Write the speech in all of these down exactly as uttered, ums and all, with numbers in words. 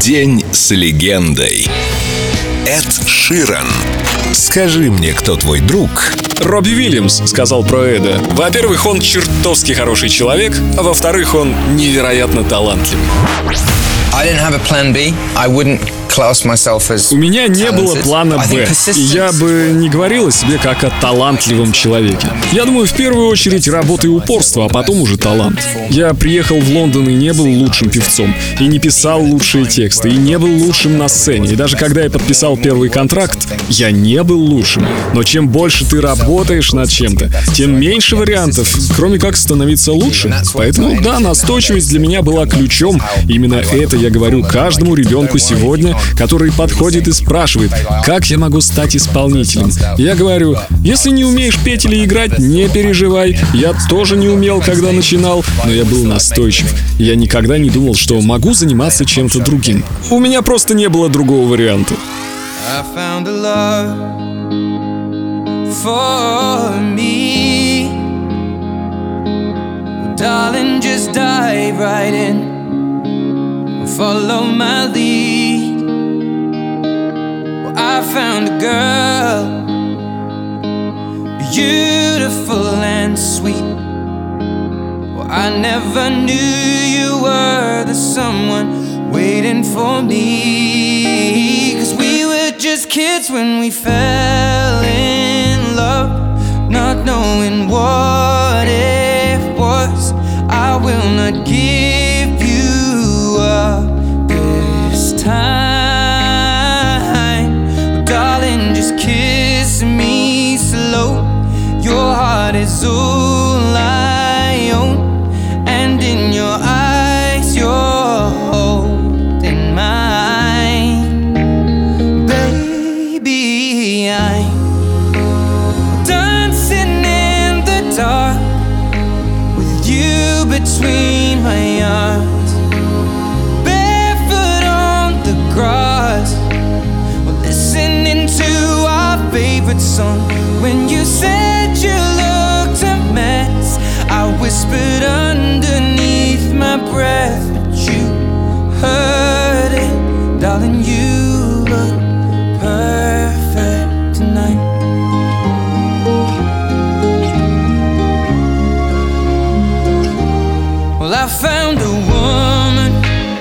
День с легендой. Эд Ширан. Скажи мне, кто твой друг? Робби Уильямс сказал про Эда: во-первых, он чертовски хороший человек, а во-вторых, он невероятно талантливый. У меня не было плана «Б», и я бы не говорил о себе как о талантливом человеке. Я думаю, в первую очередь работа и упорство, а потом уже талант. Я приехал в Лондон и не был лучшим певцом, и не писал лучшие тексты, и не был лучшим на сцене. И даже когда я подписал первый контракт, я не был лучшим. Но чем больше ты работаешь над чем-то, тем меньше вариантов, кроме как становиться лучше. Поэтому, да, настойчивость для меня была ключом. Именно это я говорю каждому ребенку сегодня, который подходит и спрашивает, как я могу стать исполнителем. Я говорю, если не умеешь петь или играть, не переживай. Я тоже не умел, когда начинал, но я был настойчив. Я никогда не думал, что могу заниматься чем-то другим. У меня просто не было другого варианта. Follow my lead. Well, I found a girl, beautiful and sweet. Well, I never knew you were the someone waiting for me. 'Cause we were just kids when we fell in love, not knowing what it was. I will not give you up this time. Oh, darling, just kiss me slow. Your heart is all I own, and in your eyes you're holding mine. Baby, I'm dancing in the dark with you between my arms, favorite song. When you said you looked a mess, I whispered underneath my breath, but you heard it. Darling, you look perfect tonight. Well, I found a woman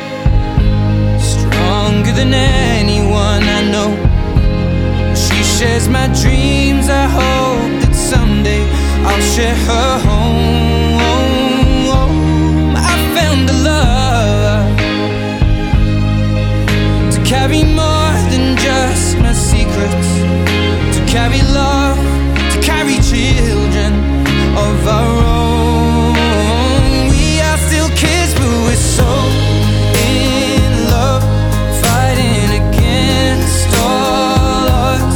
stronger than anyone I know. She shares my dreams. I hope that someday I'll share her home. I found a love to carry more than just my secrets, to carry love, to carry children of our own. We are still kids, but we're so in love, fighting against all odds.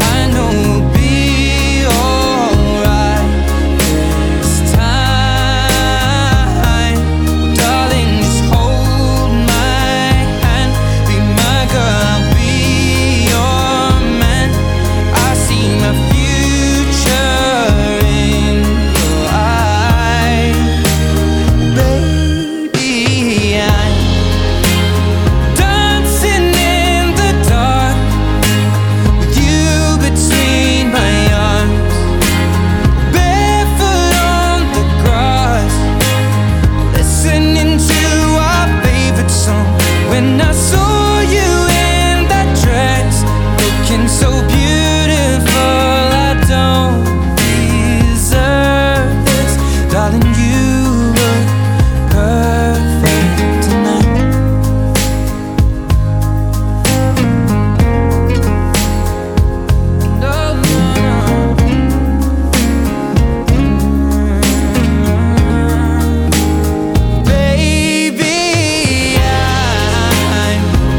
When I saw you in that dress, looking so beautiful, I don't deserve this. Darling, you look perfect tonight. No, no, no. Baby, I'm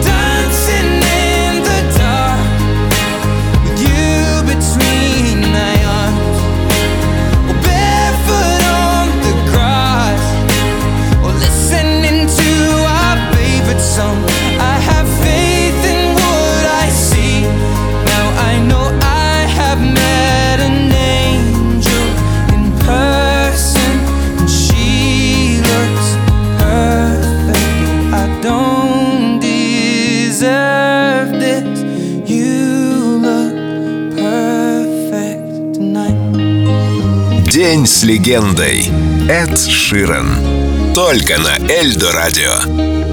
День с легендой. Эд Ширан. Только на Эльдо Радио.